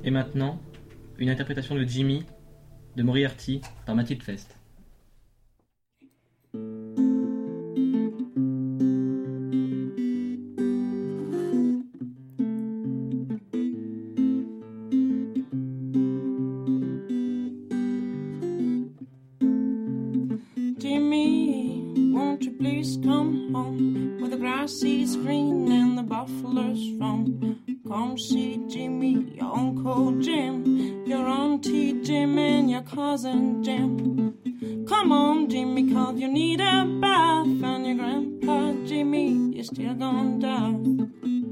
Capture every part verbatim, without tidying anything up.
Et maintenant, une interprétation de Jimmy de Moriarty par Mathilde Fest. Jimmy, won't you please come home where the grass is green and the buffaloes roam? Come see Jimmy, your Uncle Jim, your Auntie Jim and your cousin Jim. Come on, Jimmy, 'cause you need a bath, and your grandpa Jimmy is still gone down.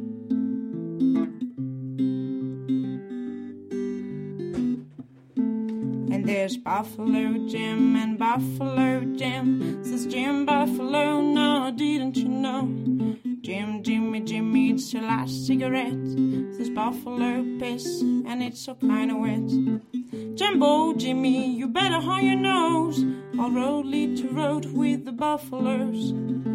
And there's Buffalo Jim and Buffalo Jim, says Jim Buffalo, no, didn't you know? Jim, Jimmy, Jimmy, it's your last cigarette, says Buffalo piss, and it's so kinda wet. Jumbo, Jimmy, you better hold your nose, I'll road lead to road with the buffaloes.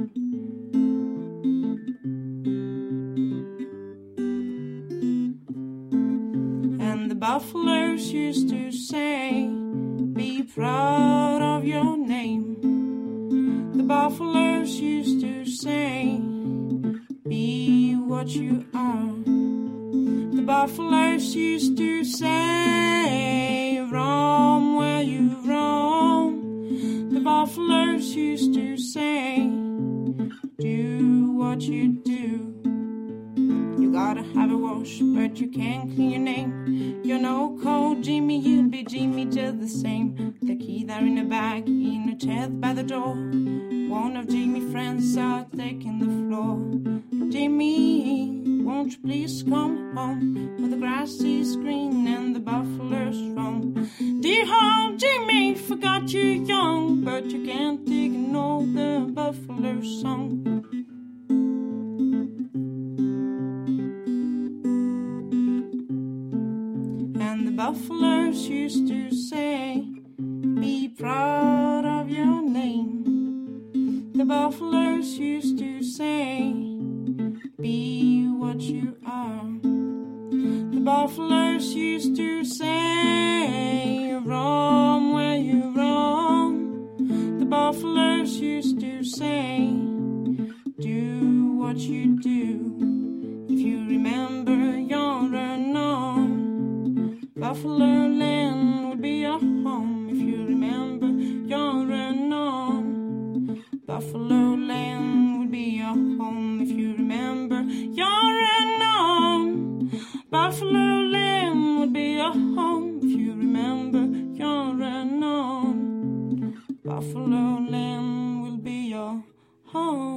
And the buffaloes used to say, be proud of your name. The buffaloes used to say, be what you are. The buffaloes used to say, roam where you roam. The buffaloes used to say, do what you do. You gotta have a wash, but you can't clean your name. You're no cold Jimmy, you'll be Jimmy just the same. The key there in a bag, in a chest by the door. One of Jimmy's friends are taking the floor. Jimmy, won't you please come home where the grass is green and the buffaloes roam? Dear home, Jimmy, forgot you young, but you can't ignore the buffalo song. And the buffaloes used to say, be proud of your name. The buffaloes used to say, be what you are. The buffaloes used to say, roam where you roam. The buffaloes used to say, do what you do. If you remember you're unknown, Buffalo Land would be your home. If you remember you're unknown, Buffalo Land would be your home. If you remember you're unknown, Buffalo Land would be your home. If you remember you're unknown, Buffalo Land will be your home.